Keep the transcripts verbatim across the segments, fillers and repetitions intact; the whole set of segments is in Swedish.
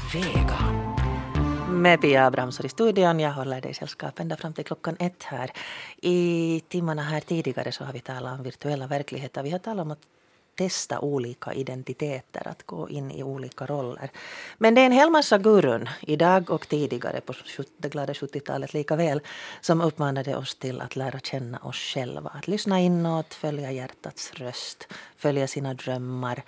Vega. Med Pia Abrahamsson i studion. Jag håller dig sällskap ända fram till klockan ett här. I timmarna här tidigare så har vi talat om virtuella verkligheter. Vi har talat om att testa olika identiteter, att gå in i olika roller. Men det är en hel massa gurun idag och tidigare på det glada sjuttiotalet lika väl som uppmanade oss till att lära känna oss själva. Att lyssna inåt, följa hjärtats röst, följa sina drömmar.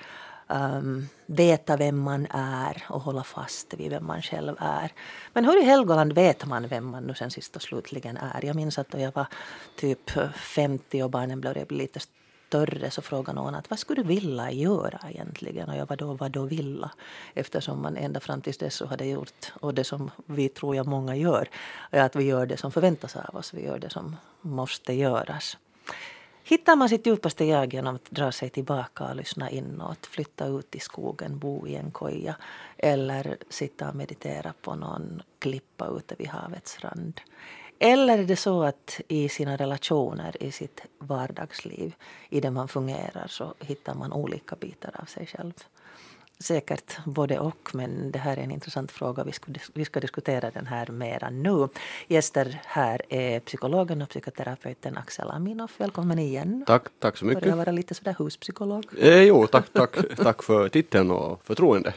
Um, veta vem man är och hålla fast vid vem man själv är. Men hur i Helgoland vet man vem man nu sen sist och slutligen är? Jag minns att då jag var typ femtio och barnen blev lite större så frågade någon att vad skulle du vilja göra egentligen? Och jag var då, vad då vilja? Eftersom man ända fram tills dess så hade gjort, och det som vi tror jag många gör, är att vi gör det som förväntas av oss. Vi gör det som måste göras. Hittar man sitt djupaste jag genom att dra sig tillbaka och lyssna inåt, flytta ut i skogen, bo i en koja eller sitta och meditera på någon klippa ute vid havets rand? Eller är det så att i sina relationer, i sitt vardagsliv, i det man fungerar så hittar man olika bitar av sig själv? Säkert både och, men det här är en intressant fråga. Vi ska, vi ska diskutera den här mera nu. Gäster här är psykologen och psykoterapeuten Axel Aminoff. Välkommen igen. Tack, tack så mycket. Börjar vara lite sådär huspsykolog. Eh, jo, tack, tack, tack för titeln och förtroende.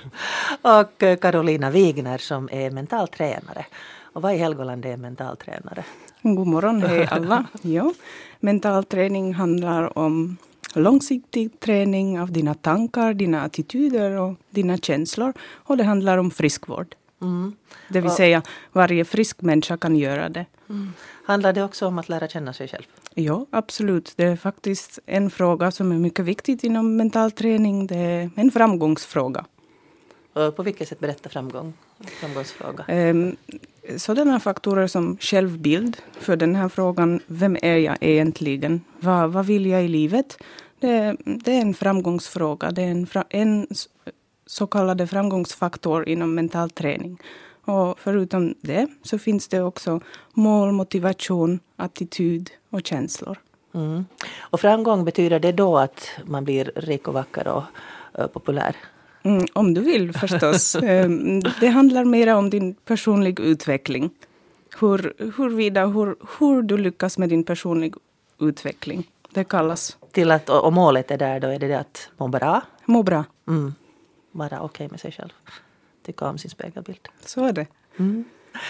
Och Karolina Wigner som är mentaltränare. Och vad i Helgoland är mentaltränare? God morgon, hej alla. Ja, mentalträning handlar om långsiktig träning av dina tankar, dina attityder och dina känslor. Och det handlar om friskvård. Mm. Det vill och, säga, varje frisk människa kan göra det. Mm. Handlar det också om att lära känna sig själv? Ja, absolut. Det är faktiskt en fråga som är mycket viktig inom mentalträning. Det är en framgångsfråga. Och på vilket sätt berätta framgång? Framgångsfråga? Um, sådana faktorer som självbild för den här frågan. Vem är jag egentligen? Vad, vad vill jag i livet? Det, det är en framgångsfråga. Det är en, en så kallad framgångsfaktor inom mental träning. Och förutom det så finns det också mål, motivation, attityd och känslor. Mm. Och framgång, betyder det då att man blir rik och vacker och uh, populär? Mm, om du vill förstås. Det handlar mer om din personliga utveckling. Hur, hurvida, hur, hur du lyckas med din personliga utveckling. Det kallas. Till att, och målet är där då, är det det att må bra? Må bra. Mm. Vara okej okay med sig själv. Tycka om sin spegelbild. Så är det. Mm.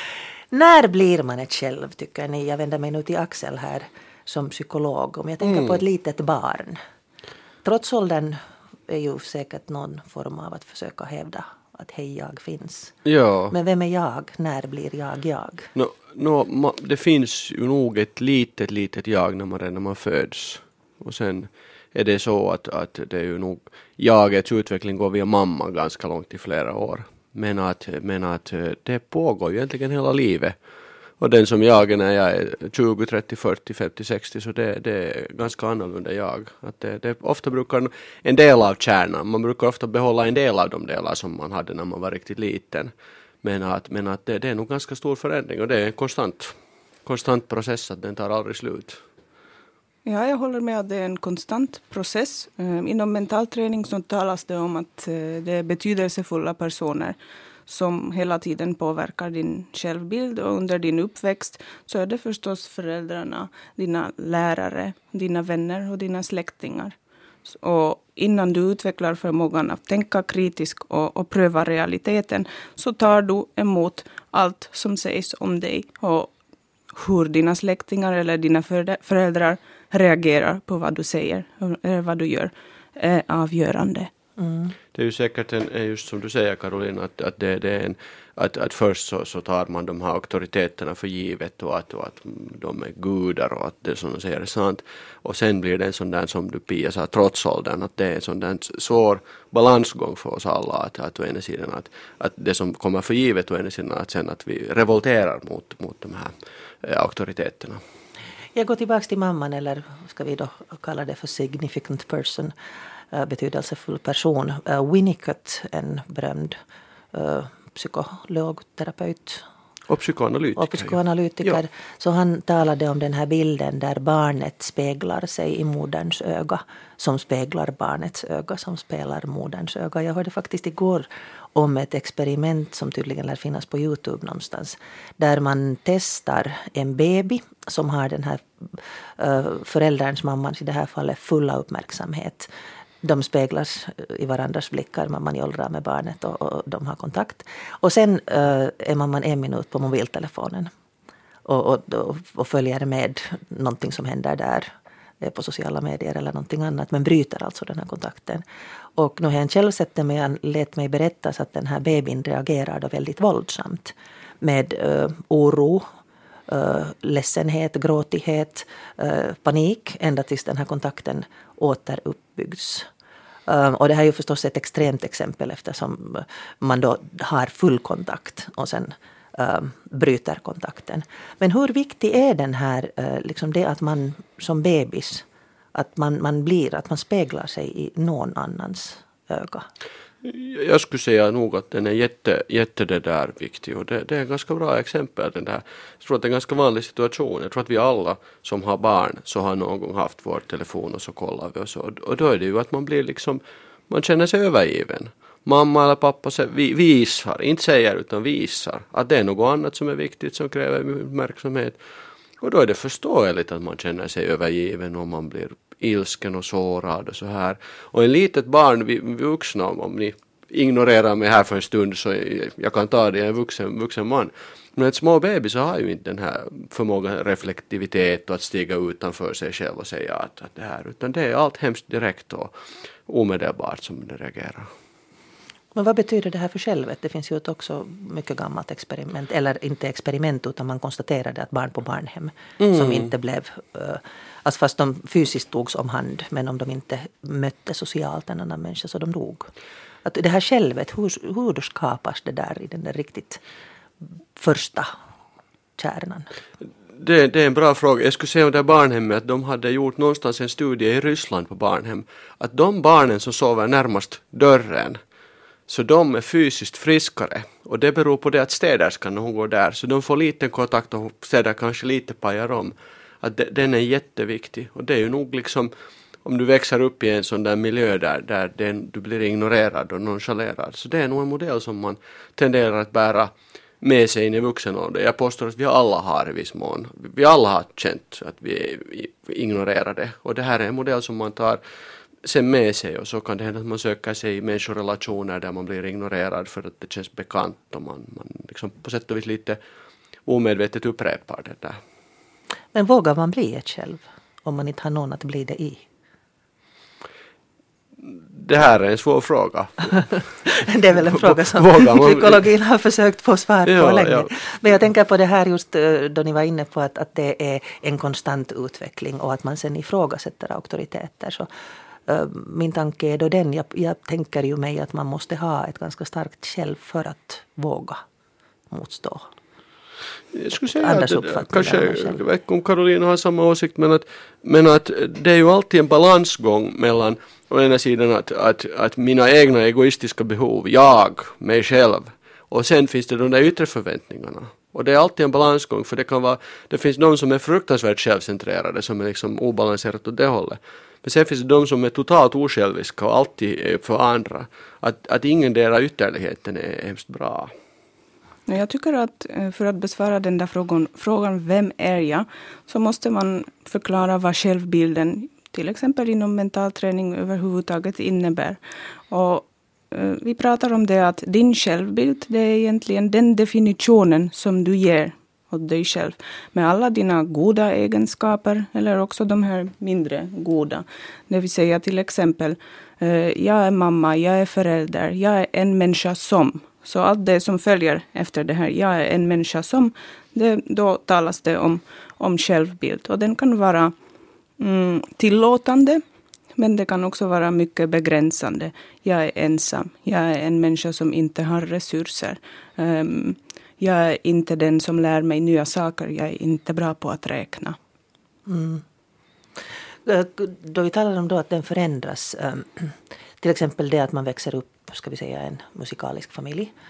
När blir man ett själv, tycker ni? Jag vänder mig nu till Axel här som psykolog. Om jag tänker mm. på ett litet barn. Trots åldern är ju säkert någon form av att försöka hävda att hej, jag finns. Ja. Men vem är jag? När blir jag jag? No, no, ma, det finns ju nog ett litet, litet jag när man, när man föds. Och sen är det så att, att det är ju nog jagets utveckling går via mamma ganska långt i flera år. Men att, men att det pågår ju egentligen hela livet. Och den som jag är när jag är tjugo, trettio, fyrtio, femtio, sextio så det, det är ganska annorlunda jag. Att det, det ofta brukar en del av kärnan, man brukar ofta behålla en del av de delar som man hade när man var riktigt liten. Men att, men att det, det är nog ganska stor förändring och det är en konstant, konstant process att den tar aldrig slut. Ja, jag håller med att det är en konstant process. Inom mentalträning så talas det om att det är betydelsefulla personer som hela tiden påverkar din självbild, och under din uppväxt så är det förstås föräldrarna, dina lärare, dina vänner och dina släktingar. Och innan du utvecklar förmågan att tänka kritiskt och, och pröva realiteten så tar du emot allt som sägs om dig, och hur dina släktingar eller dina föräldrar reagerar på vad du säger eller vad du gör är avgörande. Mm. Det är ju säkert en, just som du säger Karolina, att, att, det, det är en, att, att först så, så tar man de här auktoriteterna för givet och att, och att de är gudar och att det som de säger är sant. Och sen blir det en sån där som du Pia sa, trots åldern, att det är en sån där svår balansgång för oss alla. Att, att, å ena sidan, att, att det som kommer för givet å ena sidan att sen att vi revolterar mot, mot de här eh, auktoriteterna. Jag går tillbaka till mamman, eller ska vi då kalla det för significant person, betydelsefull person. Uh, Winnicott, en berömd uh, psykolog, terapeut, Och psykoanalytiker. Och psykoanalytiker. Ja. Så han talade om den här bilden där barnet speglar sig i moderns öga. Som speglar barnets öga, som spelar moderns öga. Jag hörde faktiskt igår om ett experiment som tydligen lär finnas på YouTube någonstans. Där man testar en baby som har den här uh, förälderns, mammans i det här fallet, fulla uppmärksamhet. De speglas i varandras blickar, mamman jollrar med barnet och, och de har kontakt. Och sen uh, är mamman en minut på mobiltelefonen och, och, och följer med någonting som händer där på sociala medier eller någonting annat, men bryter alltså den här kontakten. Och nu har jag själv sett det, men jag lät mig berättas att den här babyn reagerar då väldigt våldsamt med uh, oro, uh, ledsenhet, gråtighet, uh, panik, ända tills den här kontakten återuppbyggs. Uh, och det här är ju förstås ett extremt exempel eftersom man då har full kontakt och sen uh, bryter kontakten. Men hur viktig är den här, uh, liksom det att man som bebis, att man, man blir, att man speglar sig i någon annans öga? Jag skulle säga nog att den är jätte, jätte det där viktig, och det, det är en ganska bra exempel. Den där. Jag tror att det är en ganska vanlig situation. Jag tror att vi alla som har barn så har någon gång haft vår telefon och så kollar vi och så. Och då är det ju att man blir liksom, man känner sig övergiven. Mamma eller pappa visar, inte säger utan visar att det är något annat som är viktigt som kräver uppmärksamhet. Och då är det förståeligt att man känner sig övergiven och man blir ilsken och sårad och så här. Och en litet barn, vi, vi vuxna, om ni ignorerar mig här för en stund så jag kan ta det, jag är en vuxen, vuxen man. Men ett små baby så har ju inte den här förmågan, reflektivitet och att stiga utanför sig själv och säga att, att det här, utan det är allt hemskt direkt och omedelbart som det reagerar. Men vad betyder det här för självet? Det finns ju ett också mycket gammalt experiment, eller inte experiment utan man konstaterade att barn på barnhem mm. som inte blev, uh, alltså fast de fysiskt togs om hand, men om de inte mötte socialt en annan människa så de dog. Att det här självet, hur, hur skapas det där i den där riktigt första kärnan? Det, det är en bra fråga. Jag skulle säga om det här barnhemmet att de hade gjort någonstans en studie i Ryssland på barnhem. Att de barnen som sover närmast dörren, så de är fysiskt friskare. Och det beror på det att städerskan när hon går där. Så de får lite kontakt och städar kanske lite pajar om. Att de, den är jätteviktig. Och det är ju nog liksom, om du växer upp i en sån där miljö där, där den, du blir ignorerad och nonchalerad. Så det är nog en modell som man tenderar att bära med sig in i vuxen ålder. Jag påstår att vi alla har i viss mån. Vi alla har känt att vi är ignorerade. Och det här är en modell som man tar sen med sig, och så kan det hända att man söker sig i människorelationer där man blir ignorerad för att det känns bekant och man, man liksom på sätt och vis lite omedvetet upprepar det där. Men vågar man bli ett själv om man inte har någon att bli det i? Det här är en svår fråga. Det är väl en fråga som psykologin har försökt få svar på ja, länge. Ja. Men jag tänker på det här just då ni var inne på att, att det är en konstant utveckling och att man sen ifrågasätter auktoriteter. Så uh, min tanke är då den, jag, jag tänker ju mig att man måste ha ett ganska starkt själv för att våga motstå. Jag skulle säga att det, kanske, jag vet inte om Karolina har samma åsikt, men att, men att det är ju alltid en balansgång mellan å ena sidan att, att, att mina egna egoistiska behov, jag, mig själv, och sen finns det de där yttre förväntningarna. Och det är alltid en balansgång, för det kan vara, det finns de som är fruktansvärt självcentrerade, som är liksom obalanserat åt det hållet. Men sen finns det de som är totalt osjälviska och alltid är för andra. Att, att ingen delar ytterligheten är hemskt bra. Jag tycker att för att besvara den där frågan, frågan vem är jag, så måste man förklara vad självbilden till exempel inom mental träning överhuvudtaget innebär. Och eh, vi pratar om det att din självbild, det är egentligen den definitionen som du ger åt dig själv. Med alla dina goda egenskaper eller också de här mindre goda. Det vill säga till exempel, eh, jag är mamma, jag är förälder, jag är en människa som. Så allt det som följer efter det här, jag är en människa som, det, då talas det om, om självbild. Och den kan vara mm, tillåtande, men det kan också vara mycket begränsande. Jag är ensam, jag är en människa som inte har resurser. Um, jag är inte den som lär mig nya saker, jag är inte bra på att räkna. Mm. Då vi talar om då att den förändras, um, till exempel det att man växer upp, ska vi säga, en musikalisk familj.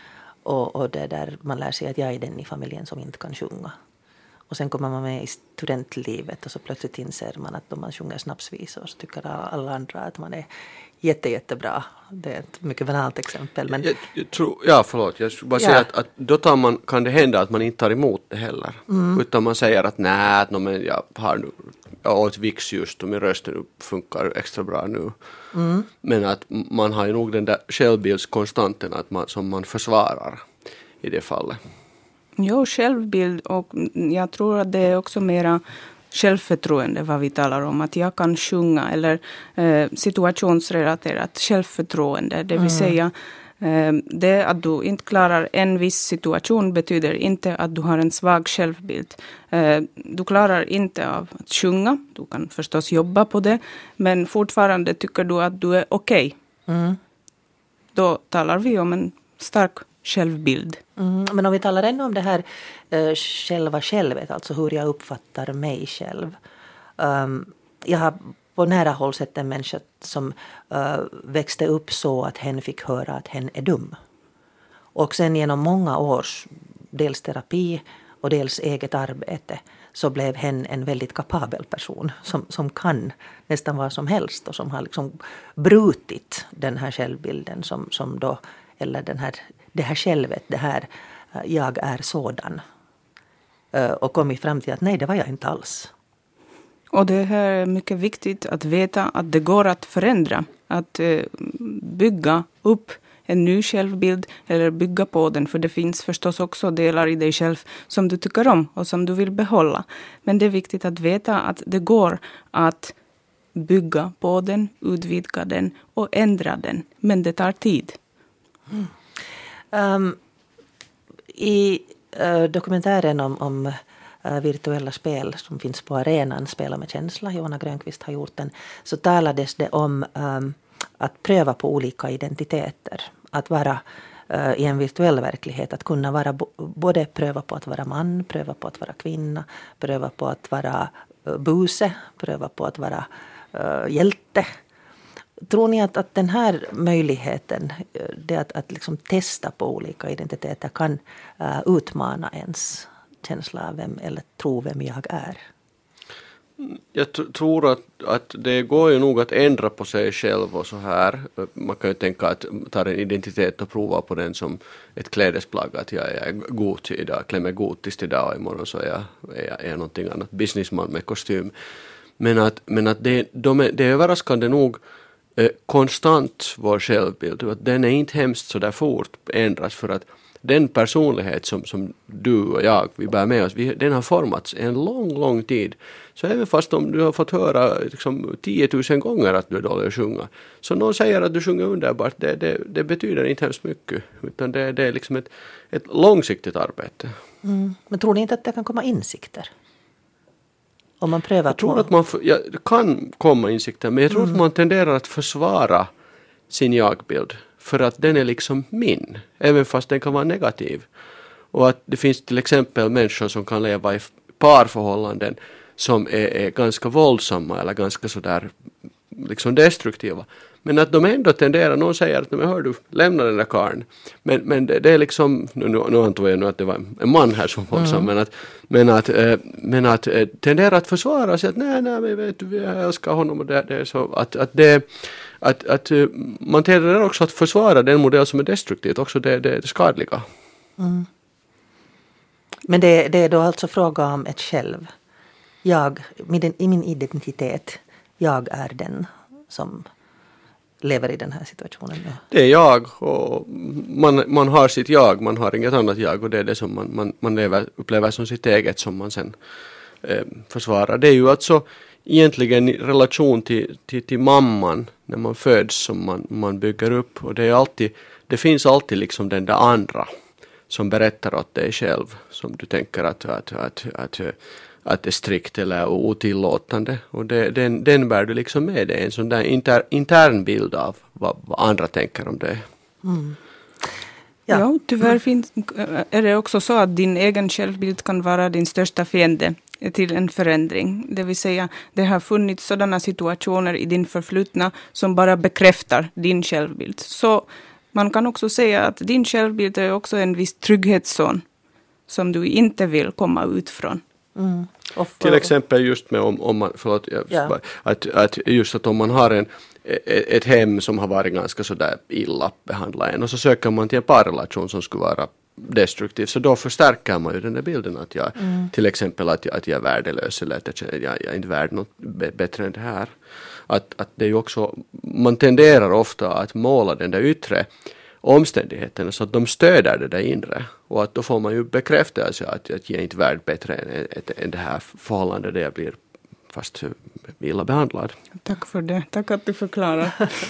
Och, och det där man lär sig att jag är den i familjen som inte kan sjunga. Och sen kommer man med i studentlivet och så plötsligt inser man att om man sjunger snapsvisor så tycker alla andra att man är jätte, jättebra. Det är ett mycket banalt exempel. Men... Jag, jag tror, ja, förlåt. Jag skulle bara ja. säga att, att då tar man, kan det hända att man inte tar emot det heller. Mm. Utan man säger att nej, no, men jag har nu, jag åt Vicks just och min röst nu funkar extra bra nu. Mm. Men att man har ju nog den där självbildskonstanten att man, som man försvarar i det fallet. Jo, självbild, och jag tror att det är också mera självförtroende vad vi talar om. Att jag kan sjunga eller eh, situationsrelaterat självförtroende. Det vill mm. säga eh, det att du inte klarar en viss situation betyder inte att du har en svag självbild. Eh, du klarar inte av att sjunga. Du kan förstås jobba på det. Men fortfarande tycker du att du är okej. Okay. Mm. Då talar vi om en stark självbild. Mm, men om vi talar ännu om det här uh, själva självet, alltså hur jag uppfattar mig själv. Um, jag har på nära håll sett en människa som uh, växte upp så att hen fick höra att hen är dum. Och sen genom många års dels terapi och dels eget arbete så blev hen en väldigt kapabel person som, som kan nästan vad som helst och som har liksom brutit den här självbilden som, som då, eller den här det här självet, det här jag är sådan. Och kommit fram till att nej, det var jag inte alls. Och det här är mycket viktigt att veta att det går att förändra. Att bygga upp en ny självbild eller bygga på den. För det finns förstås också delar i dig själv som du tycker om och som du vill behålla. Men det är viktigt att veta att det går att bygga på den, utvidga den och ändra den. Men det tar tid. Mm. Um, I uh, dokumentären om, om uh, virtuella spel som finns på arenan, Spela med känsla, Johanna Grönqvist har gjort den, så talades det om um, att pröva på olika identiteter. Att vara uh, i en virtuell verklighet, att kunna vara bo- både pröva på att vara man, pröva på att vara kvinna, pröva på att vara uh, buse, pröva på att vara uh, hjälte. Tror ni att, att den här möjligheten, det att, att liksom testa på olika identiteter kan uh, utmana ens känsla av vem eller tro vem jag är? Jag t- tror att, att det går ju nog att ändra på sig själv och så här. Man kan ju tänka att ta en identitet och prova på den som ett klädesplagg. Att jag är god idag, klär mig gotiskt idag och imorgon så är jag, är jag är någonting annat. Businessman med kostym. Men att, men att det, de är, det är överraskande nog eh, konstant vår självbild. Att den är inte hemskt så där fort ändras för att den personlighet som, som du och jag, vi bär med oss, vi, den har formats en lång, lång tid. Så även fast om du har fått höra liksom, tiotusen gånger att du är dålig att sjunga, så någon säger att du sjunger underbart, det, det, det betyder inte hemskt mycket. Utan det, det är liksom ett, ett långsiktigt arbete. Mm. Men tror ni inte att det kan komma insikter? Om man prövar jag tror på... att man ja, det kan komma insikter, men jag tror mm. att man tenderar att försvara sin jagbild. För att den är liksom min, även fast den kan vara negativ. Och att det finns till exempel människor som kan leva i parförhållanden som är, är ganska våldsamma eller ganska sådär liksom destruktiva. Men att de ändå tenderar, någon säger att men hör du, lämna den där karln. Men, men det, det är liksom, nu, nu antog jag nu att det var en man här som våldsam, mm. men att, men att, äh, men att äh, tenderar att försvara sig att nej, nej, men vet du, jag älskar honom och det, det är så att, att det Att, att man tenderar också att försvara den modell som är destruktivt, också det, det, det skadliga. Mm. Men det, det är då alltså fråga om ett själv. Jag, i min identitet, jag är den som lever i den här situationen. Ja. Det är jag och man, man har sitt jag, man har inget annat jag och det är det som man, man, man lever, upplever som sitt eget som man sen eh, försvarar. Det är ju alltså egentligen i relation till, till, till mamman när man föds som man, man bygger upp och det är alltid, det finns alltid liksom den där andra som berättar åt dig själv som du tänker att, att, att, att, att är strikt eller otillåtande och det, den, den bär du liksom med dig, en sån där inter, intern bild av vad, vad andra tänker om det. Mm. Ja. ja, tyvärr finns, är det också så att din egen självbild kan vara din största fiende till en förändring. Det vill säga, det har funnits sådana situationer i din förflutna som bara bekräftar din självbild. Så Man kan också säga att din självbild är också en viss trygghetszon som du inte vill komma ut från. Mm. Och för, Till exempel just med om, om man, förlåt, ja. att, att just att om man har en, ett hem som har varit ganska sådär illa behandlat en och så söker man till en parrelation som skulle vara destruktiv, så då förstärker man ju den där bilden att jag, mm. till exempel att jag, att jag är värdelös eller att jag, jag, jag är inte värd något b- bättre än det här. Att, att det är ju också, man tenderar ofta att måla den där yttre omständigheterna så att de stöder det där inre, och att då får man ju bekräftelse att, att jag är inte värd bättre än, än det här förhållandet där jag blir fast illa behandlad. Tack för det, tack att du förklarar.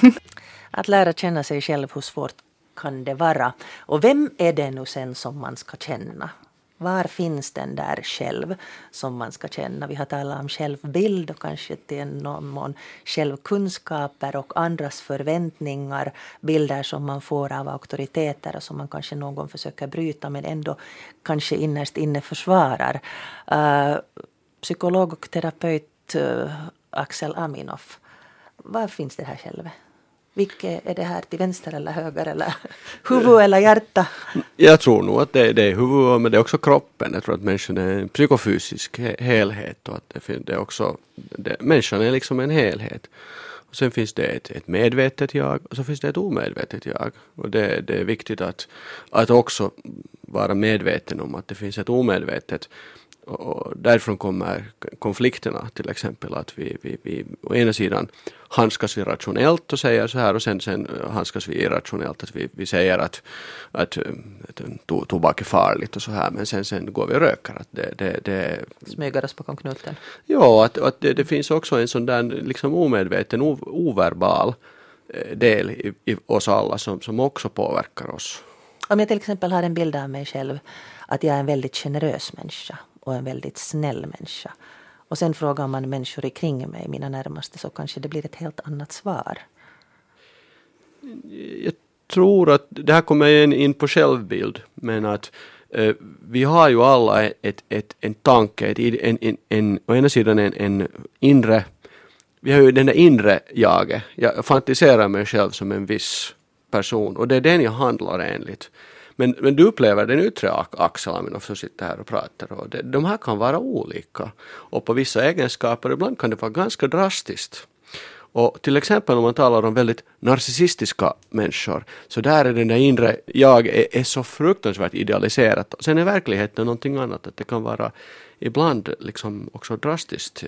Att lära känna sig själv, hur svårt kan det vara? Och vem är det nu sen som man ska känna? Var finns den där själv som man ska känna? Vi har talat om självbild och kanske till någon mån självkunskaper och andras förväntningar, bilder som man får av auktoriteter och som man kanske någon gång försöker bryta men ändå kanske innerst inne försvarar. Uh, psykolog och terapeut uh, Axel Aminoff, var finns det här själv? Vilket är det här, till vänster eller höger eller huvud eller hjärta? Jag tror nog att det, det är huvud, men det är också kroppen. Jag tror att människan är en psykofysisk he- helhet och att det, det är också, det, människan är liksom en helhet. Och sen finns det ett, ett medvetet jag och så finns det ett omedvetet jag. Och det, det är viktigt att, att också vara medveten om att det finns ett omedvetet. Och därifrån kommer konflikterna, till exempel att vi, vi, vi å ena sidan hanskas vi rationellt och säger så här, och sen, sen hanskas vi irrationellt, att vi, vi säger att, att, att to, tobak är farligt och så här, men sen, sen går vi och röker. Att det, det, det, smyger oss på knuten. Ja, att, att det, det finns också en sån där liksom omedveten, o, overbal del i, i oss alla som, som också påverkar oss. Om jag till exempel har en bild av mig själv att jag är en väldigt generös människa och en väldigt snäll människa. Och sen frågar man människor kring mig, mina närmaste, så kanske det blir ett helt annat svar. Jag tror att det här kommer in på självbild, men att eh, vi har ju alla ett, ett, en tanke, ett, en, en, en, å ena sidan en, en inre, vi har ju den där inre jaget. Jag fantiserar mig själv som en viss person och det är den jag handlar enligt. Men, men du upplever den yttre Axel Aminoff som sitter här och pratar. Och det, de här kan vara olika. Och på vissa egenskaper ibland kan det vara ganska drastiskt. Och till exempel om man talar om väldigt narcissistiska människor. Så där är den där inre jag är, är så fruktansvärt idealiserat. Sen är verkligheten någonting annat. Att det kan vara ibland liksom också drastiskt.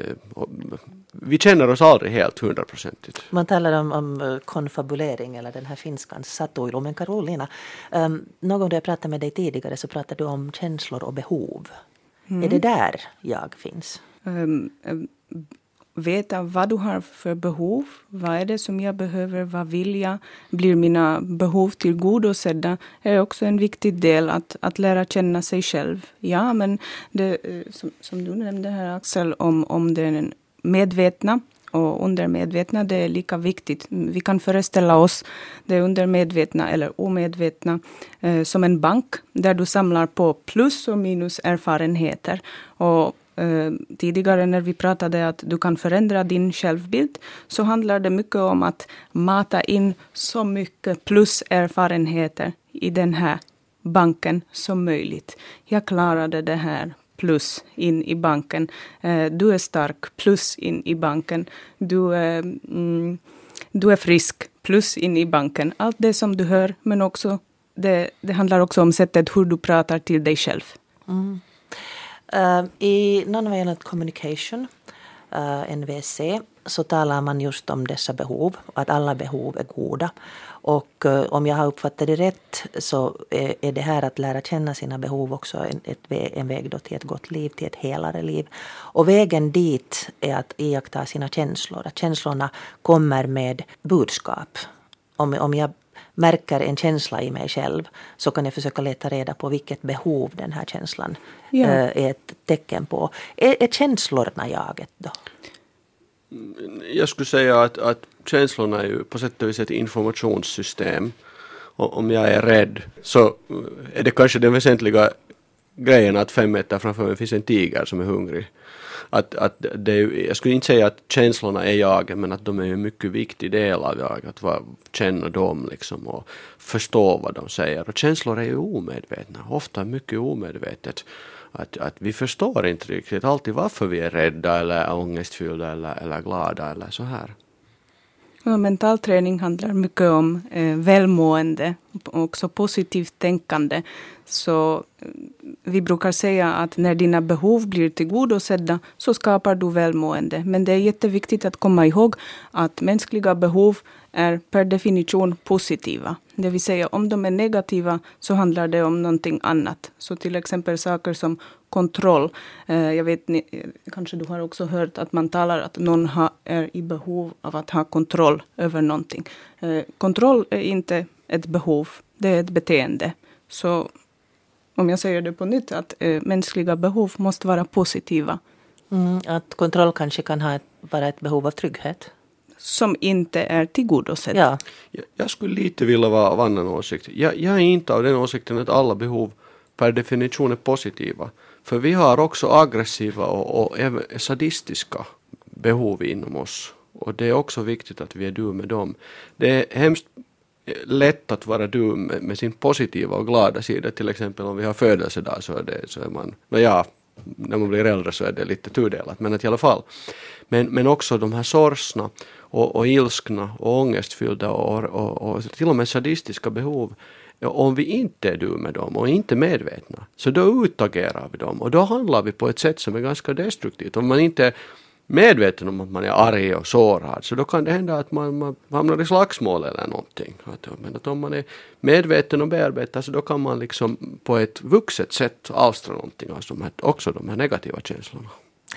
Vi känner oss aldrig helt hundraprocentigt. Man talar om, om konfabulering eller den här finskan satuilu. Men Karolina, um, någon gång då jag pratade med dig tidigare så pratade du om känslor och behov. Mm. Är det där jag finns? Um, um, veta vad du har för behov. Vad är det som jag behöver? Vad vill jag? Blir mina behov tillgodosedda? Är också en viktig del att, att lära känna sig själv. Ja, men det, som, som du nämnde här Axel, om, om den medvetna och undermedvetna, det är lika viktigt. Vi kan föreställa oss det undermedvetna eller omedvetna eh, som en bank där du samlar på plus och minus erfarenheter. Och eh, tidigare när vi pratade att du kan förändra din självbild så handlar det mycket om att mata in så mycket plus erfarenheter i den här banken som möjligt. Jag klarade det här. Plus in i banken. Eh, du är stark, plus in i banken. Du är, mm, du är frisk, plus in i banken. Allt det som du hör, men också det, det handlar också om sättet hur du pratar till dig själv. Mm. Uh, I Non-Violent Communication, uh, N V C, så talar man just om dessa behov, att alla behov är goda. Och uh, om jag har uppfattat det rätt så är, är det här att lära känna sina behov också en, ett, en väg då till ett gott liv, till ett helare liv. Och vägen dit är att iaktta sina känslor. Att känslorna kommer med budskap. Om, om jag märker en känsla i mig själv så kan jag försöka leta reda på vilket behov den här känslan ja. uh, är ett tecken på. Är, är känslorna jaget då? Jag skulle säga att, att känslorna är ju på sätt och vis ett informationssystem. Och om jag är rädd så är det kanske den väsentliga grejen att fem meter framför mig finns en tiger som är hungrig. Att, att det är, jag skulle inte säga att känslorna är jag, men att de är en mycket viktig del av jag. Att vara, känna dem liksom och förstå vad de säger. Och känslor är ju omedvetna, ofta mycket omedvetet. Att, att vi förstår inte riktigt alltid varför vi är rädda eller ångestfyllda eller, eller glada eller så här. Ja, mental träning handlar mycket om eh, välmående och också positivt tänkande. Så eh, vi brukar säga att när dina behov blir tillgodosedda så skapar du välmående. Men det är jätteviktigt att komma ihåg att mänskliga behov är per definition positiva. Det vill säga om de är negativa så handlar det om någonting annat. Så till exempel saker som kontroll. Eh, jag vet, ni, kanske du har också hört att man talar att någon ha, är i behov av att ha kontroll över någonting. Eh, kontroll är inte ett behov, det är ett beteende. Så om jag säger det på nytt, att eh, mänskliga behov måste vara positiva. Mm, att kontroll kanske kan ha ett, vara ett behov av trygghet. Som inte är tillgodosedd. Ja. Jag, jag skulle lite vilja vara av annan åsikt. Jag, jag är inte av den åsikten att alla behov per definition är positiva. För vi har också aggressiva och, och även sadistiska behov inom oss. Och det är också viktigt att vi är du med dem. Det är hemskt lätt att vara du med, med sin positiva och glada sida. Till exempel om vi har födelsedag så är, det, så är man, no ja, när man blir äldre så är det lite tudelat. Men att i alla fall. Men, men också de här sorgsna och, och ilskna och ångestfyllda och, och, och till och med sadistiska behov. Om vi inte är du med dem och inte medvetna så då utagerar vi dem och då handlar vi på ett sätt som är ganska destruktivt. Om man inte är medveten om att man är arg och sårad så då kan det hända att man, man hamnar i slagsmål eller någonting. Men att om man är medveten och bearbetar så då kan man liksom på ett vuxet sätt avstra någonting, alltså de här, också de här negativa känslorna.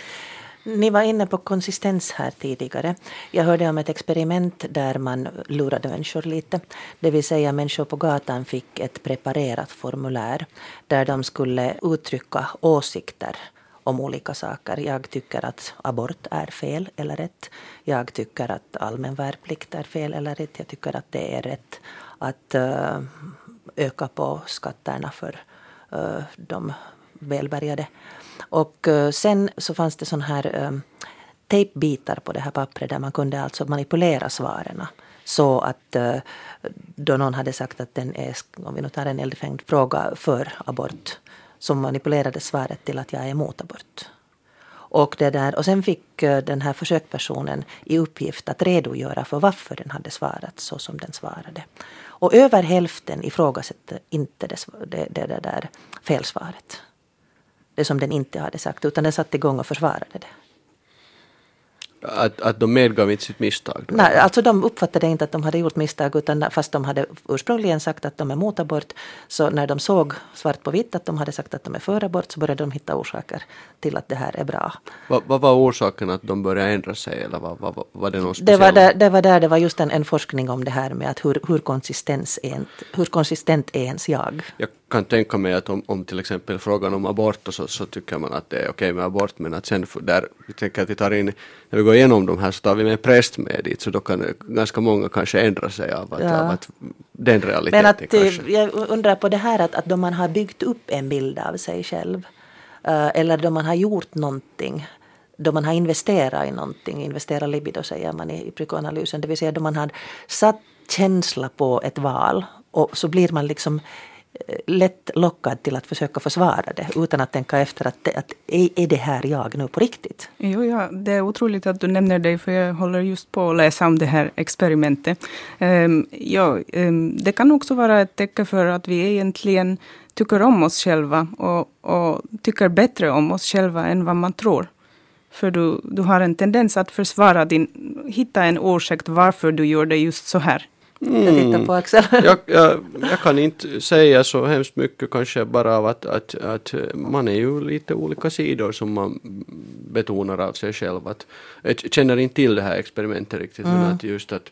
Ni var inne på konsistens här tidigare. Jag hörde om ett experiment där man lurade människor lite. Det vill säga människor på gatan fick ett preparerat formulär där de skulle uttrycka åsikter om olika saker. Jag tycker att abort är fel eller rätt. Jag tycker att allmän värnplikt är fel eller rätt. Jag tycker att det är rätt att uh, öka på skatterna för uh, de välbärgade. Och uh, sen så fanns det sån här um, tejpbitar på det här pappret där man kunde alltså manipulera svaren. Så att uh, då någon hade sagt att den är, om vi nu tar en eldfängd fråga för abort, som manipulerade svaret till att jag är emot abort. Och, det där, och sen fick uh, den här försökspersonen i uppgift att redogöra för varför den hade svarat så som den svarade. Och över hälften ifrågasätter inte det, det, det, det där felsvaret. Det som den inte hade sagt, utan den satte igång och försvarade det. Att, att de medgav inte sitt misstag? Då. Nej, alltså de uppfattade inte att de hade gjort misstag, utan fast de hade ursprungligen sagt att de är mot abort, så när de såg svart på vitt att de hade sagt att de är för abort så började de hitta orsaker till att det här är bra. Vad, vad var orsaken att de började ändra sig, eller vad, vad, var det någon speciell? Det var där det var, där, det var just en, en forskning om det här med att hur, hur, konsistens är, hur konsistent är ens jag. Jag kan tänka mig att om, om till exempel frågan om abort så, så tycker man att det är okej med abort, men att sen där, vi tänker att vi tar in, när vi går igenom de här så tar vi med en präst med dit, så då kan ganska många kanske ändra sig av att, ja. av att den realiteten men att, kanske. Jag undrar på det här att, att då man har byggt upp en bild av sig själv uh, eller då man har gjort någonting, då man har investerat i någonting, investera libido säger man i, i psykoanalysen, det vill säga då man har satt känsla på ett val och så blir man liksom lätt lockad till att försöka försvara det utan att tänka efter att, det, att är det här jag nu på riktigt? Jo, ja, det är otroligt att du nämner det, för jag håller just på att läsa om det här experimentet. Um, ja, um, det kan också vara ett tecken för att vi egentligen tycker om oss själva och, och tycker bättre om oss själva än vad man tror. För du, du har en tendens att försvara din, hitta en ursäkt varför du gör det just så här. Mm. Jag tittar på Axel. jag, jag, jag kan inte säga så hemskt mycket kanske bara av att, att, att man är ju lite olika sidor som man betonar av sig själv. Att, jag känner inte till det här experimentet riktigt, mm. men att just att,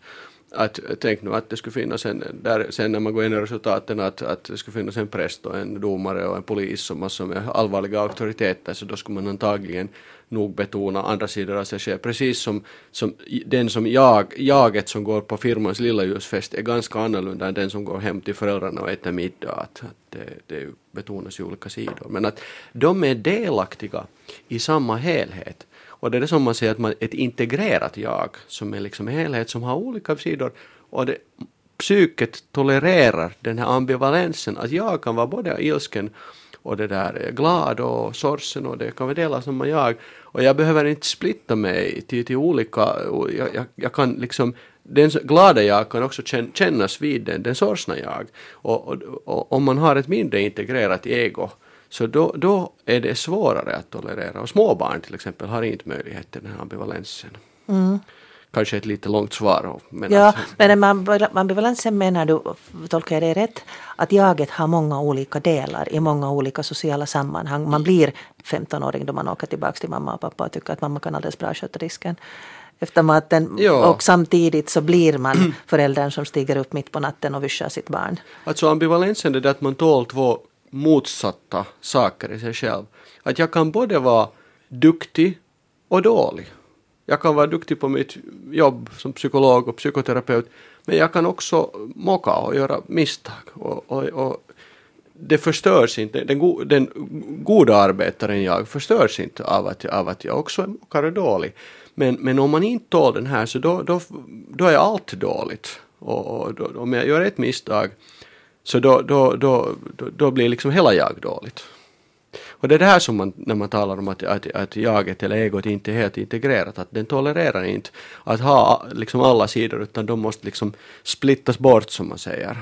Att, tänk nu att det skulle finnas en, där, sen när man går in i resultaten, att, att det skulle finnas en präst och en domare och en polis som massor med allvarliga auktoriteter, så då skulle man antagligen nog betona andra sidor av sig själv. Precis som, som den som jag, jaget som går på firmans lilla ljusfest är ganska annorlunda än den som går hem till föräldrarna och äter middag. Att, att det, det betonas i olika sidor. Men att de är delaktiga i samma helhet. Och det är det som man säger, att man ett integrerat jag som är liksom en helhet som har olika sidor, och det, psyket tolererar den här ambivalensen, att jag kan vara både ilsken och det där glad och sorgsen, och det kan vi dela som jag, och jag behöver inte splitta mig till, till olika, och jag, jag, jag kan liksom, den glada jag kan också kännas vid den, den sorgsna jag, och, och, och om man har ett mindre integrerat ego, så då, då är det svårare att tolerera. Och småbarn till exempel har inte möjlighet till den här ambivalensen. Mm. Kanske ett lite långt svar. Men ja, att, men ambivalensen menar du, tolkar jag det rätt, att jaget har många olika delar i många olika sociala sammanhang. Man blir femtonåring då man åker tillbaka till mamma och pappa och tycker att mamma kan alldeles bra sköta risken efter maten. Ja. Och samtidigt så blir man föräldern som stiger upp mitt på natten och vischar sitt barn. Alltså ambivalensen är det att man tål två motsatta saker i sig själv. Att jag kan både vara duktig och dålig. Jag kan vara duktig på mitt jobb som psykolog och psykoterapeut, men jag kan också mocka och göra misstag. Och, och, och det förstörs inte. Den, go, den goda arbetaren jag förstörs inte av att, av att jag också mockar och dålig. Men, men om man inte tål den här, så då, då, då är allt dåligt. Och, och då, om jag gör ett misstag, så då, då, då, då, då blir liksom hela jag dåligt. Och det är det här som man, när man talar om att, att, att jaget eller egot inte är helt integrerat, att den tolererar inte att ha liksom alla sidor, utan de måste liksom splittas bort, som man säger.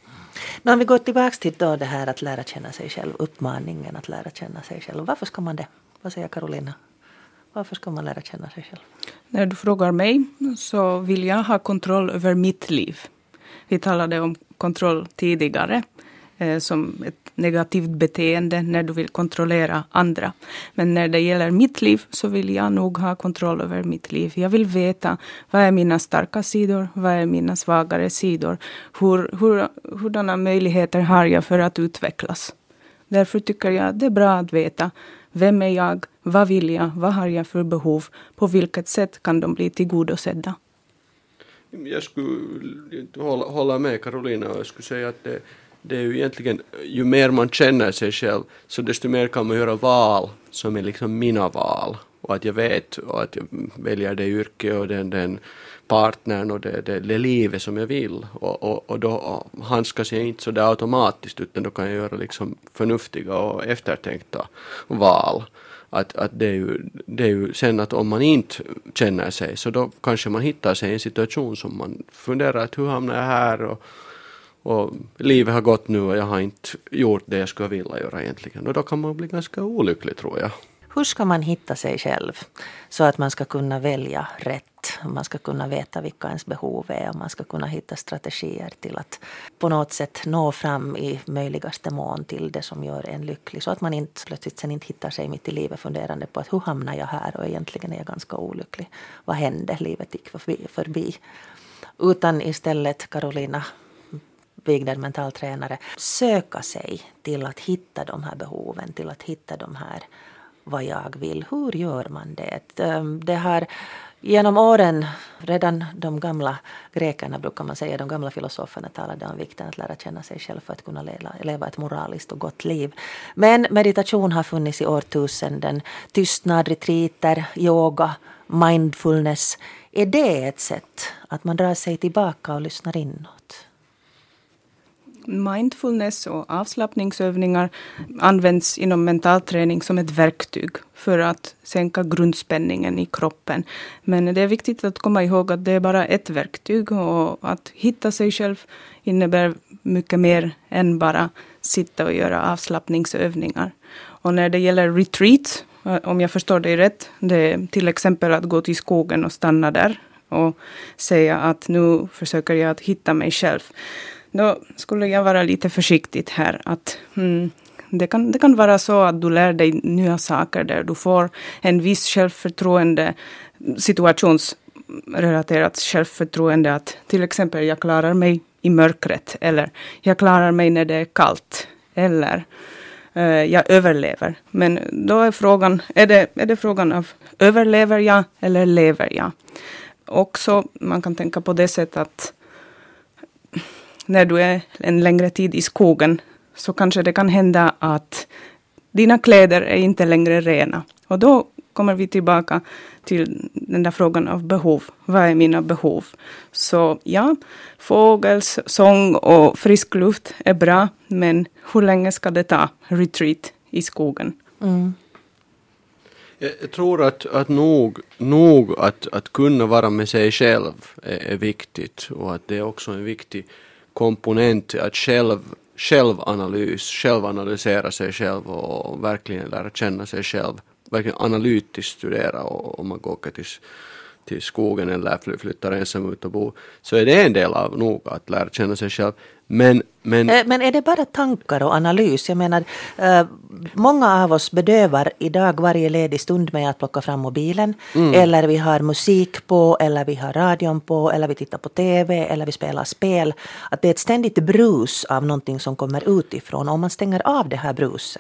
Men om vi går tillbaka till då det här att lära känna sig själv, uppmaningen att lära känna sig själv. Varför ska man det? Vad säger Karolina? Varför ska man lära känna sig själv? När du frågar mig så vill jag ha kontroll över mitt liv. Vi talade om kontroll tidigare eh, som ett negativt beteende när du vill kontrollera andra. Men när det gäller mitt liv så vill jag nog ha kontroll över mitt liv. Jag vill veta vad är mina starka sidor, vad är mina svagare sidor. Hur, hur, hurdana möjligheter har jag för att utvecklas. Därför tycker jag att det är bra att veta vem är jag, vad vill jag, vad har jag för behov, på vilket sätt kan de bli tillgodosedda. Jag skulle hålla, hålla med Karolina, och jag skulle säga att det, det är ju egentligen, ju mer man känner sig själv, så desto mer kan man göra val som är liksom mina val. Och att jag vet och att jag väljer det yrke och den, den partnern och det, det, det livet som jag vill. Och, och, och då handskas jag inte så där automatiskt, utan då kan jag göra liksom förnuftiga och eftertänkta val. Att, att det, är ju, det är ju sen att om man inte känner sig, så då kanske man hittar sig i en situation som man funderar att hur hamnar jag här, och, och livet har gått nu och jag har inte gjort det jag skulle vilja göra egentligen. Och då kan man bli ganska olycklig, tror jag. Hur ska man hitta sig själv så att man ska kunna välja rätt? Man ska kunna veta vilka ens behov är, och man ska kunna hitta strategier till att på något sätt nå fram i möjligaste mån till det som gör en lycklig. Så att man inte plötsligt sen inte hittar sig mitt i livet funderande på att hur hamnar jag här, och egentligen är jag ganska olycklig. Vad hände? Livet gick förbi. förbi. Utan istället, Karolina Wigner, mentaltränare, söka sig till att hitta de här behoven, till att hitta de här vad jag vill. Hur gör man det? Det har genom åren, redan de gamla grekerna brukar man säga, de gamla filosoferna talade om vikten att lära känna sig själv för att kunna leva, leva ett moraliskt och gott liv. Men meditation har funnits i årtusenden. Tystnad, retriter, yoga, mindfulness. Är det ett sätt att man drar sig tillbaka och lyssnar inåt? Mindfulness och avslappningsövningar används inom mentalträning som ett verktyg för att sänka grundspänningen i kroppen. Men det är viktigt att komma ihåg att det är bara ett verktyg, och att hitta sig själv innebär mycket mer än bara sitta och göra avslappningsövningar. Och när det gäller retreat, om jag förstår det rätt, det är till exempel att gå till skogen och stanna där och säga att nu försöker jag att hitta mig själv. Då skulle jag vara lite försiktigt här. Att, mm, det, kan, det kan vara så att du lär dig nya saker där. Du får en viss självförtroende situations relaterat självförtroende, att till exempel jag klarar mig i mörkret, eller jag klarar mig när det är kallt, eller uh, jag överlever. Men då är frågan, är det, är det frågan av överlever jag eller lever jag? Också man kan tänka på det sättet att när du är en längre tid i skogen så kanske det kan hända att dina kläder är inte längre rena. Och då kommer vi tillbaka till den där frågan av behov. Vad är mina behov? Så ja, fågels sång och frisk luft är bra, men hur länge ska det ta retreat i skogen? Mm. Jag, jag tror att, att nog, nog att, att kunna vara med sig själv är, är viktigt, och att det är också en viktig komponent att själv, självanalys, självanalysera sig själv och verkligen lära känna sig själv, verkligen analytiskt studera. Och om man går till, till skogen eller flyttar ensam ut och bo, så är det en del av nog att lära känna sig själv. Men, men, men är det bara tankar och analys? Jag menar, äh, många av oss bedövar idag varje ledig stund med att plocka fram mobilen. Mm. Eller vi har musik på, eller vi har radion på, eller vi tittar på tv, eller vi spelar spel. Att det är ett ständigt brus av någonting som kommer utifrån. Om man stänger av det här bruset,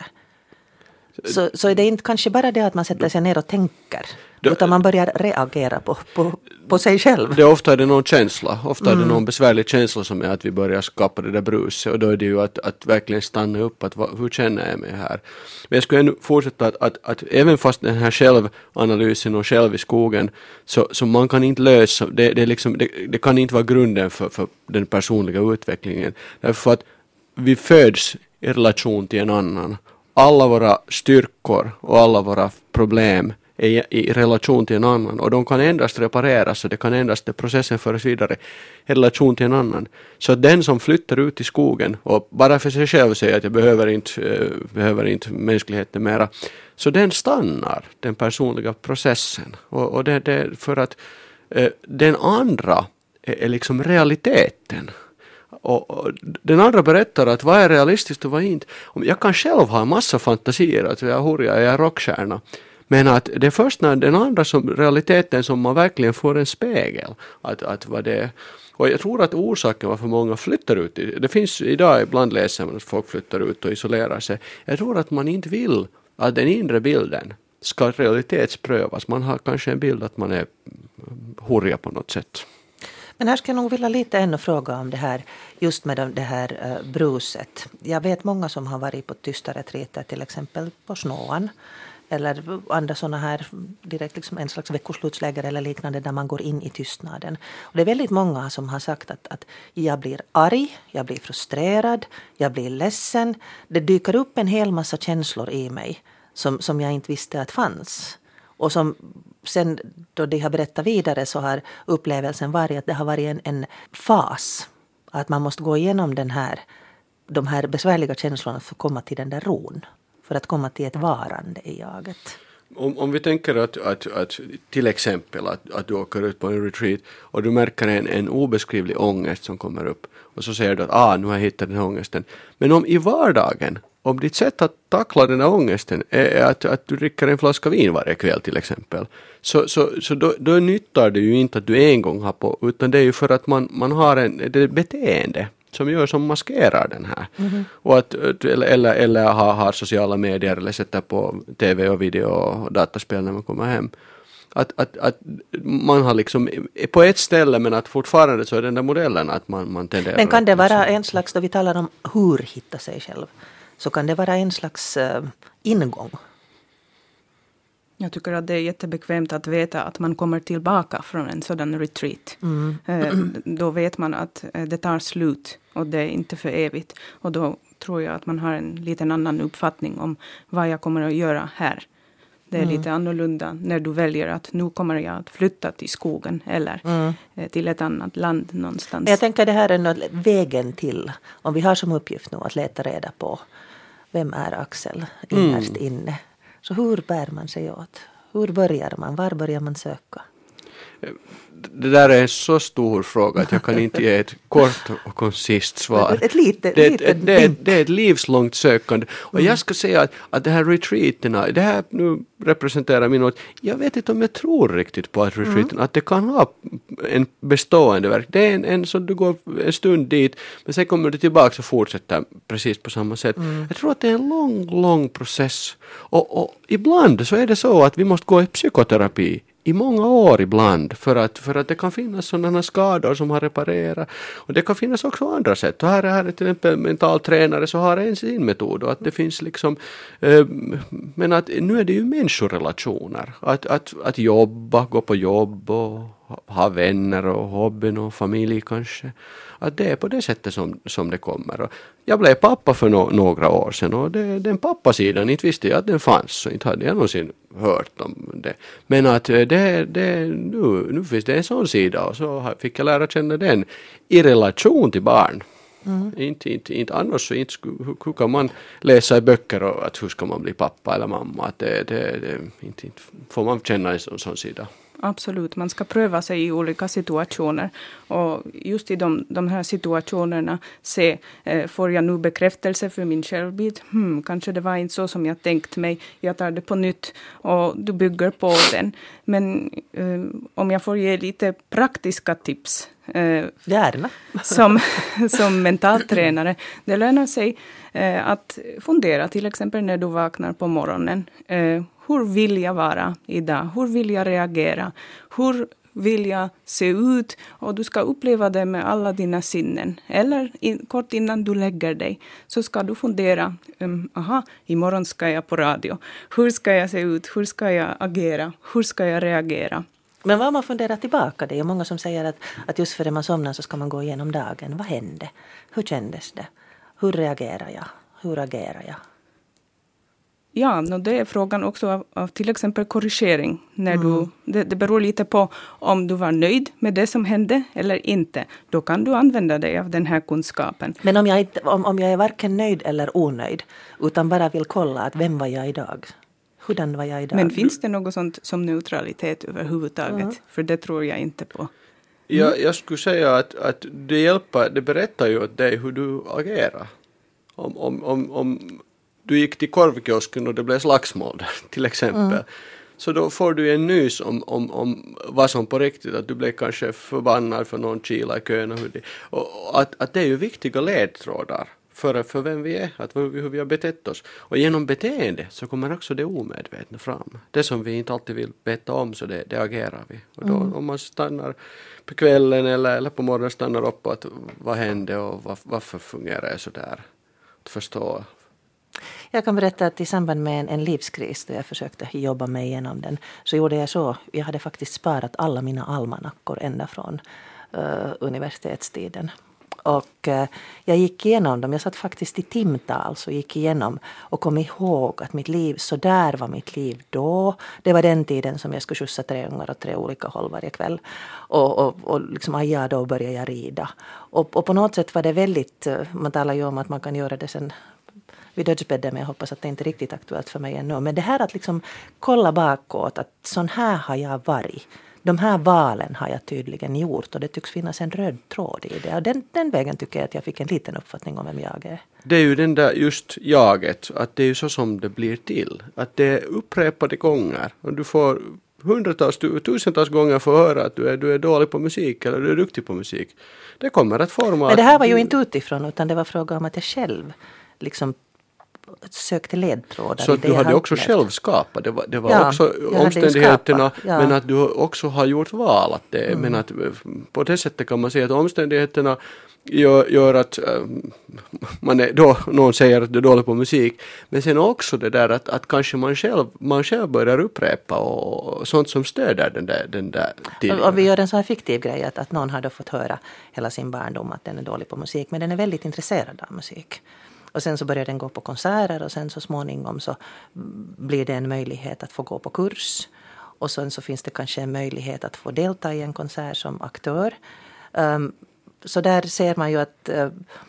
så, så är det inte kanske bara det att man sätter sig ner och tänker. Det, utan man börjar reagera på, på, på sig själv. Det ofta är det någon känsla. Ofta mm. är det någon besvärlig känsla som är att vi börjar skapa det där bruset. Och då är det ju att, att verkligen stanna upp. Att, hur känner jag mig här? Men jag skulle ännu fortsätta att, att, att även fast den här självanalysen och själv i skogen, så, så man kan inte lösa, det, det, är liksom, det, det kan inte vara grunden för, för den personliga utvecklingen. Därför att vi föds i relation till en annan. Alla våra styrkor och alla våra problem är i relation till en annan, och de kan endast repareras, och det kan endast, det processen föras vidare i relation till en annan. Så att den som flyttar ut i skogen och bara för sig själv säger att jag behöver inte, äh, behöver inte mänskligheten mera, så den stannar den personliga processen. Och, och det, det för att äh, den andra är, är liksom realiteten. Och, och den andra berättar att vad är realistiskt och vad inte. Jag kan själv ha en massa fantasier, att jag är hurja, jag är rockstjärna. Men att det är först när den andra som realiteten som man verkligen får en spegel. Att, att vad det är. Och jag tror att orsaken varför många flyttar ut, det finns idag ibland läser man att folk flyttar ut och isolerar sig. Jag tror att man inte vill att den inre bilden ska realitetsprövas. Man har kanske en bild att man är hurja på något sätt. Men här ska jag nog vilja lite ännu fråga om det här, just med det här uh, bruset. Jag vet många som har varit på tysta retriter, till exempel på Snåan. Eller andra sådana här, direkt liksom en slags veckoslutsläger eller liknande, där man går in i tystnaden. Och det är väldigt många som har sagt att, att jag blir arg, jag blir frustrerad, jag blir ledsen. Det dyker upp en hel massa känslor i mig som, som jag inte visste att fanns. Och som sen då de har berättat vidare, så har upplevelsen varit att det har varit en, en fas. Att man måste gå igenom den här, de här besvärliga känslorna för att komma till den där ron. För att komma till ett varande i jaget. Om, om vi tänker att, att, att till exempel att, att du åker ut på en retreat och du märker en, en obeskrivlig ångest som kommer upp. Och så säger du att ah, nu har jag hittat den här ångesten. Men om i vardagen, om ditt sätt att tackla den här ångesten är att, att du dricker en flaska vin varje kväll till exempel. Så, så, så då, då nyttar det ju inte att du en gång har på, utan det är ju för att man, man har en, det är beteende som gör som maskerar den här. Mm-hmm. Och att, eller eller, eller har, har sociala medier eller sätter på tv och video och dataspel när man kommer hem. Att, att, att man har liksom på ett ställe, men att fortfarande så är den där modellen att man, man tenderar. Men kan det vara en slags, då vi talar om hur hitta sig själv, så kan det vara en slags uh, ingång? Jag tycker att det är jättebekvämt att veta att man kommer tillbaka från en sådan retreat. Mm. Eh, då vet man att eh, det tar slut och det är inte för evigt. Och då tror jag att man har en liten annan uppfattning om vad jag kommer att göra här. Det är mm. lite annorlunda när du väljer att nu kommer jag att flytta till skogen eller mm. eh, till ett annat land någonstans. Jag tänker det här är vägen till, om vi har som uppgift nu att leta reda på vem är Axel innerst mm. inne. Så hur bär man sig åt? Hur börjar man? Var börjar man söka? Det där är en så stor fråga att jag kan inte ge ett kort och koncist svar. Ett litet, det, litet det, det, det är ett livslångt sökande. Och mm. jag ska säga att, att det här retreaterna, det här nu representerar min åt. Jag vet inte om jag tror riktigt på att retreaterna, mm. att det kan ha en bestående verk. Det är en, en så du går en stund dit, men sen kommer du tillbaka och fortsätter precis på samma sätt. Mm. Jag tror att det är en lång, lång process. Och, och ibland så är det så att vi måste gå i psykoterapi i många år ibland för att, för att det kan finnas sådana skador som har reparerat. Och det kan finnas också andra sätt. Och här är här till exempel mental tränare så har en sin metod. Och att det finns liksom, eh, men att nu är det ju människorelationer. Att, att, att jobba, gå på jobb och ha vänner och hobbyn och familj kanske. Att det är på det sättet som, som det kommer. Och jag blev pappa för no, några år sedan och det, den pappasidan, inte visste jag att den fanns så inte hade jag någonsin hört om det. Men att det, det, nu, nu finns det en sån sida och så fick jag lära känna den i relation till barn. Mm. Inte, inte, inte annars så inte, hur, hur kan man läsa i böcker och att hur ska man bli pappa eller mamma. Att det, det, det, inte, inte får man känna en sån, sån sida. Absolut, man ska pröva sig i olika situationer och just i de, de här situationerna se, eh, får jag nu bekräftelse för min självbild? Hmm, kanske det var inte så som jag tänkt mig, jag tar det på nytt och du bygger på den. Men eh, om jag får ge lite praktiska tips eh, Gärna. som, som mentaltränare, det lönar sig eh, att fundera till exempel när du vaknar på morgonen. Eh, Hur vill jag vara idag? Hur vill jag reagera? Hur vill jag se ut? Och du ska uppleva det med alla dina sinnen. Eller in, kort innan du lägger dig så ska du fundera. Um, aha, imorgon ska jag på radio. Hur ska jag se ut? Hur ska jag agera? Hur ska jag reagera? Men vad man funderar tillbaka, det är många som säger att, att just före man somnar så ska man gå igenom dagen. Vad hände? Hur kändes det? Hur reagerar jag? Hur agerar jag? Ja, no, det är frågan också av, av till exempel korrigering. När mm. du, det, det beror lite på om du var nöjd med det som hände eller inte. Då kan du använda dig av den här kunskapen. Men om jag, inte, om, om jag är varken nöjd eller onöjd utan bara vill kolla att vem var jag idag? Hurdan var jag idag? Men finns det något sånt som neutralitet överhuvudtaget? Mm. För det tror jag inte på. Mm. Jag, jag skulle säga att, att det hjälper, det berättar ju åt dig hur du agerar. Om... om, om, om du gick till korvkiosken och det blev slagsmål där, till exempel. Mm. Så då får du en nys om, om, om vad som på riktigt, att du blev kanske förbannad för någon kila i kön. Och, hur det, och att, att det är ju viktiga ledtrådar för, för vem vi är, att hur, hur vi har betett oss. Och genom beteende så kommer också det omedvetna fram. Det som vi inte alltid vill beta om, så det, det agerar vi. Och då mm. om man stannar på kvällen eller, eller på morgonen stannar upp att vad hände och var, varför fungerar det så där. Att förstå. Jag kan berätta att i samband med en, en livskris då jag försökte jobba mig igenom den så gjorde jag så. Jag hade faktiskt sparat alla mina almanackor ända från uh, universitetstiden. Och uh, jag gick igenom dem. Jag satt faktiskt i timtal så gick igenom och kom ihåg att mitt liv, så där var mitt liv då. Det var den tiden som jag skulle skjutsa tre ungar och tre olika håll varje kväll. Och, och, och liksom, aja, då började jag rida. Och, och på något sätt var det väldigt, uh, man talar ju om att man kan göra det sen vid dödsbädden, men jag hoppas att det inte är riktigt aktuellt för mig ännu. Men det här att liksom kolla bakåt, att sån här har jag varit. De här valen har jag tydligen gjort och det tycks finnas en röd tråd i det. Och den, den vägen tycker jag att jag fick en liten uppfattning om vem jag är. Det är ju den där just jaget, att det är ju så som det blir till. Att det är upprepade gånger och du får hundratals, tusentals gånger få höra att du är, du är dålig på musik eller du är duktig på musik. Det kommer att forma... Men det här var ju inte utifrån utan det var fråga om att jag själv liksom sökte ledtrådar. Så du hade också själv skapat. Det var, det var ja, också omständigheterna ja. Men att du också har gjort val. Att det, mm. Men att på det sättet kan man säga att omständigheterna gör, gör att äh, man är, då, någon säger att du är dålig på musik. Men sen också det där att, att kanske man själv, man själv börjar upprepa och sånt som stöder den där, den där tiden. Och vi gör en sån här fiktiv grej att, att någon har då fått höra hela sin barndom att den är dålig på musik. Men den är väldigt intresserad av musik. Och sen så börjar den gå på konserter och sen så småningom så blir det en möjlighet att få gå på kurs. Och sen så finns det kanske en möjlighet att få delta i en konsert som aktör. Um, så där ser man ju att uh,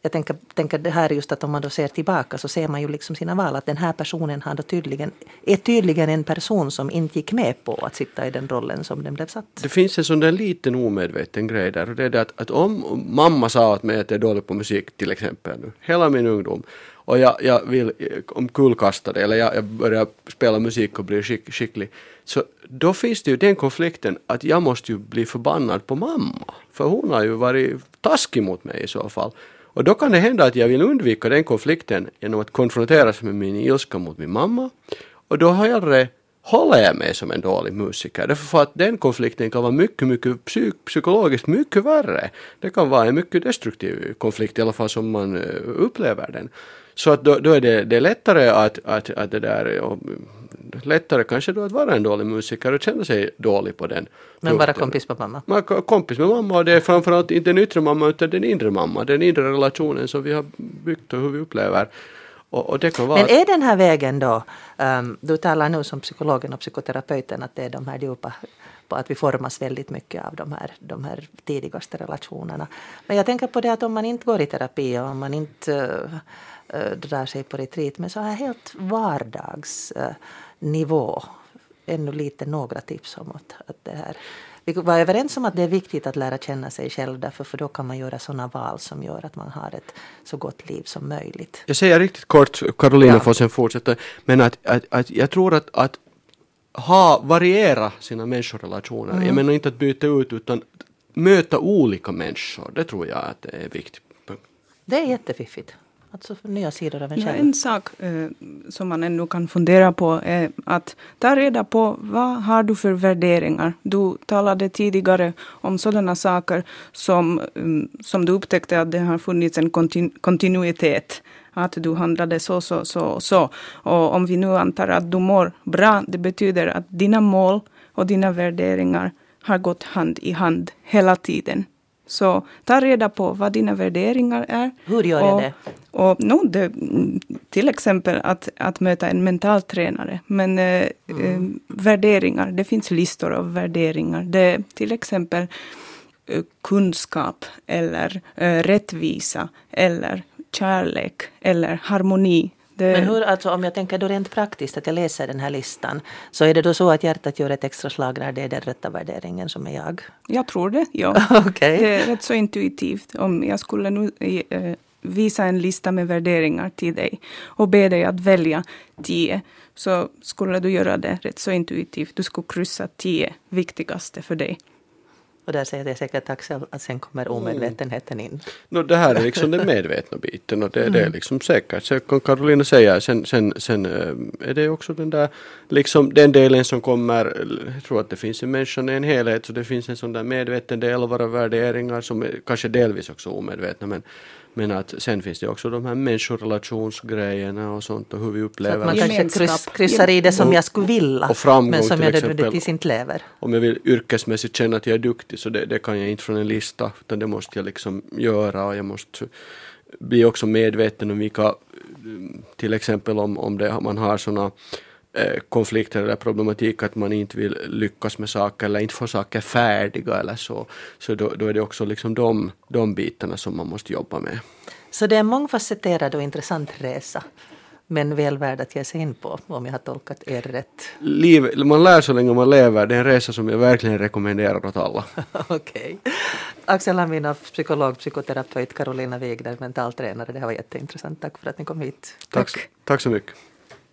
jag tänker, tänker det här just att om man då ser tillbaka så ser man ju liksom sina val att den här personen har då tydligen, är tydligen en person som inte gick med på att sitta i den rollen som den blev satt. Det finns en sån där liten omedveten grej där och det är det att, att om mamma sa åt mig att jag är dålig på musik till exempel nu, hela min ungdom och jag, jag vill omkullkasta det eller jag, jag börjar spela musik och blir skick, skicklig så då finns det ju den konflikten att jag måste ju bli förbannad på mamma för hon har ju varit taskig mot mig i så fall. Och då kan det hända att jag vill undvika den konflikten genom att konfronteras med min ilska mot min mamma. Och då har jag det, håller jag mig som en dålig musiker. Därför för att den konflikten kan vara mycket, mycket psyk- psykologiskt mycket värre. Det kan vara en mycket destruktiv konflikt i alla fall som man upplever den. Så att då, då är det, det är lättare att, att, att det där och, lättare kanske då att vara en dålig musiker och känna sig dålig på den. Men vara kompis med mamma. Man är kompis med mamma och det är framförallt inte den yttre mamma utan den inre mamma. Den inre relationen som vi har byggt och hur vi upplever. Och, och det kan vara... Men är den här vägen då, um, du talar nu som psykologen och psykoterapeuten att det är de här djupa, på att vi formas väldigt mycket av de här, de här tidigaste relationerna. Men jag tänker på det att om man inte går i terapi och om man inte uh, uh, drar sig på retreat med så här helt vardagsnivå, uh, ännu lite några tips om att, att det här. Vi var överens om att det är viktigt att lära känna sig själv därför för då kan man göra sådana val som gör att man har ett så gott liv som möjligt. Jag säger riktigt kort, Karolina ja. får sen fortsätta, men att, att, att jag tror att, att ha, variera sina människorelationer. Mm. Jag menar inte att byta ut utan möta olika människor. Det tror jag att det är viktigt. Det är jättefiffigt. Alltså för nya sidor av en ja, själv. En sak eh, som man ännu kan fundera på är att ta reda på vad har du för värderingar. Du talade tidigare om sådana saker som, um, som du upptäckte att det har funnits en kontinu- kontinuitet. Att du handlade så, så, så, så. Och om vi nu antar att du mår bra, det betyder att dina mål och dina värderingar har gått hand i hand hela tiden. Så ta reda på vad dina värderingar är. Hur gör jag och, det? Och, no, det? Till exempel att, att möta en mental tränare. Men eh, mm. eh, värderingar, det finns listor av värderingar. Det är till exempel eh, kunskap eller eh, rättvisa eller kärlek eller harmoni. Det... Men hur, alltså om jag tänker då rent praktiskt att jag läser den här listan så är det då så att hjärtat gör ett extra slag när det är den rätta värderingen som är jag? Jag tror det, ja. Okay. Det är rätt så intuitivt. Om jag skulle nu eh, visa en lista med värderingar till dig och be dig att välja tio så skulle du göra det rätt så intuitivt. Du skulle kryssa tio viktigaste för dig. Och där säger det säkert Axel att sen kommer omedvetenheten in. No, det här är liksom den medvetna biten och det, mm. det är liksom säkert. Så kan Karolina säga, sen, sen, sen är det också den där, liksom den delen som kommer, jag tror att det finns i människan en helhet så det finns en sån där medveten del av våra värderingar som är kanske delvis också omedvetna men Men att sen finns det också de här människorelationsgrejerna och sånt och hur vi upplever. Så att man kanske kryss, kryssar i det som och, jag skulle vilja och framgång, men som jag nödvändigtvis inte lever. Om jag vill yrkesmässigt känna att jag är duktig så det, det kan jag inte från en lista utan det måste jag liksom göra och jag måste bli också medveten om vilka till exempel om, om det, man har sådana eh, konflikter eller problematik att man inte vill lyckas med saker eller inte få saker färdiga eller så. Så då, då är det också liksom de, de bitarna som man måste jobba med. Så det är en mångfacetterad och intressant resa. Men väl värd att ge sig in på om jag har tolkat er rätt. Liv, man lär så länge man lever. Det är en resa som jag verkligen rekommenderar åt alla. Okej. Okay. Axel Hamina, psykolog, psykoterapeut, Karolina Wigner, mentaltränare. Det här var jätteintressant. Tack för att ni kom hit. Tack, tack så mycket.